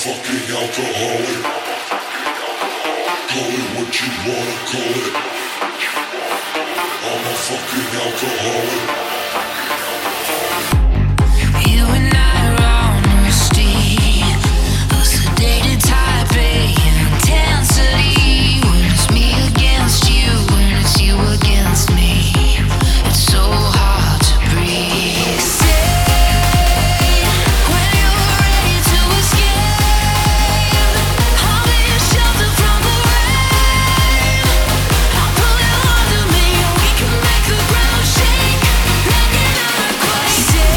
fucking alcoholic. Call it what you wanna call it. I'm a fucking alcoholic. You and I are on a street, a sedated type A intensity. When it's me against you, when it's you against me, it's so hard to breathe. Say when you're ready to escape, I'll be your shelter from the rain. I'll pull you under me, and we can make the ground shake like an earthquake. Say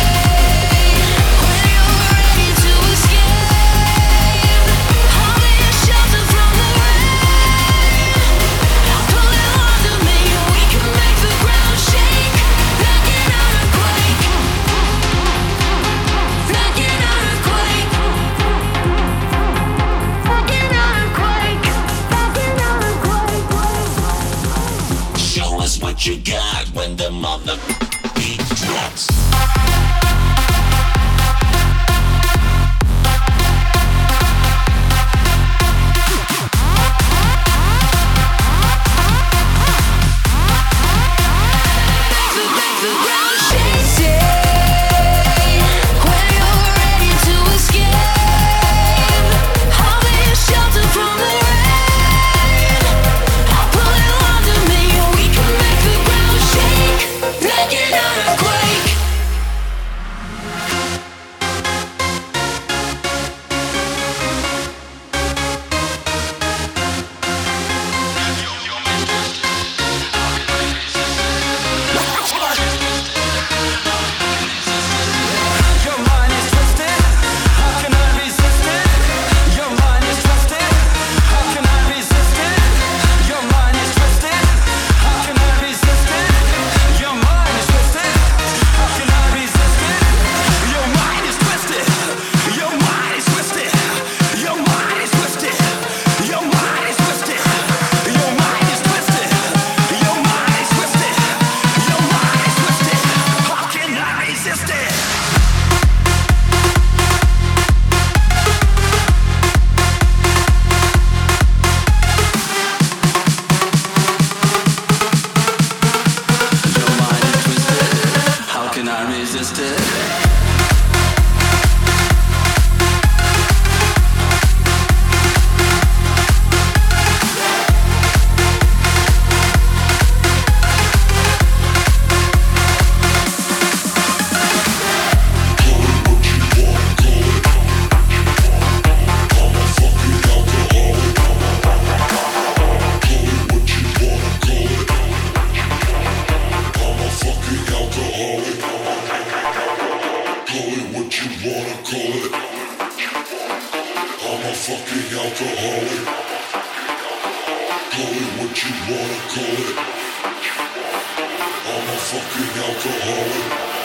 when you're ready to escape, I'll be your shelter from the rain. I'll pull you under me, and we can make the ground shake like an earthquake. Like an earthquake. Like an earthquake. Like an earthquake. Show us what you got when the mother beat drops. Make the ground shake. Say when you're ready to escape, I'll be your shelter from the rain. I'll pull you under me, and we can make the ground shake like an earthquake. Your mind is twisted. How can I resist it? Your mind is twisted. How can I resist it? Your mind is twisted. How can I resist it? Your mind is twisted. How can I resist it? Your mind is twisted. Your mind is twisted. Your mind is twisted. Your mind is twisted. Your mind is twisted. Your mind is twisted. Your mind is twisted. How can I resist it? Your mind is twisted. How can I resist it? Call it what you wanna call it. I'm a fucking alcoholic. Call it what you wanna call it. I'm a fucking alcoholic.